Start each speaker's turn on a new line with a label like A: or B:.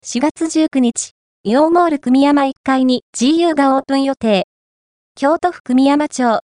A: 4月19日、イオンモール久美山1階に GU がオープン予定。京都府久美山町